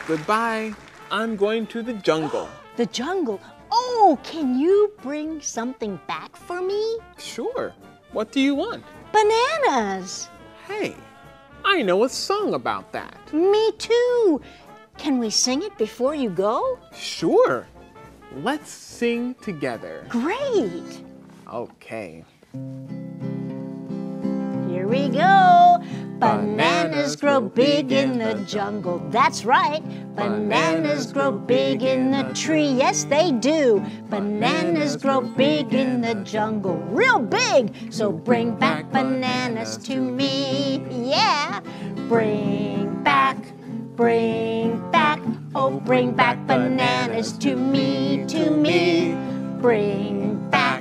Goodbye. I'm going to the jungle. The jungle? Oh, can you bring something back for me? Sure. What do you want? Bananas. Hey, I know a song about that. Me too. Can we sing it before you go? Sure. Let's sing together. Great. Okay. Here we go. Bananas grow big in the jungle. That's right. Bananas grow big in the tree. Yes, they do. Bananas grow big in the jungle. Real big. So bring back bananas to me. Yeah. Bring back. Oh, bring back bananas to me, to me. Bring back.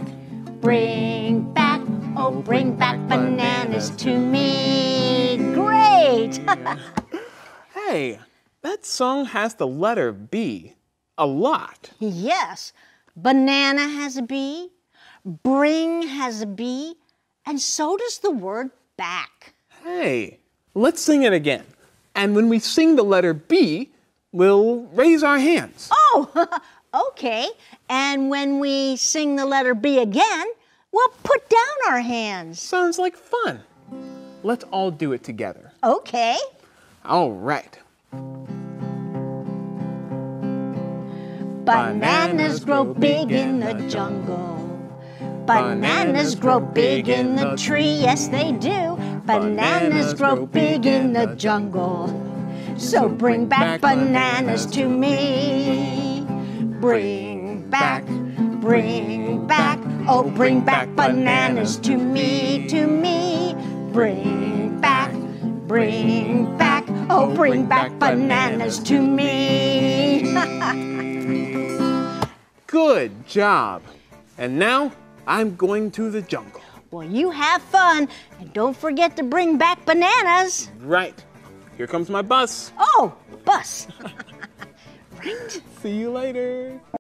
Oh, bring back bananas to me. Great! Hey, that song has the letter B a lot. Yes, banana has a B, bring has a B, and so does the word back. Hey, let's sing it again. And when we sing the letter B, we'll raise our hands. Oh, okay. And when we sing the letter B again, we'll put down our hands. Sounds like fun. Let's all do it together. Okay. All right. Bananas grow big in the jungle. Bananas grow big in the tree. Yes, they do. Bananas grow big in the jungle. So bring back bananas to me. Bring back. Oh, bring back bananas to me, to me. Bring back. Oh, bring back bananas to me. Good job. And now I'm going to the jungle. Well, you have fun, and don't forget to bring back bananas. Right. Here comes my bus. Oh, bus. Right. See you later.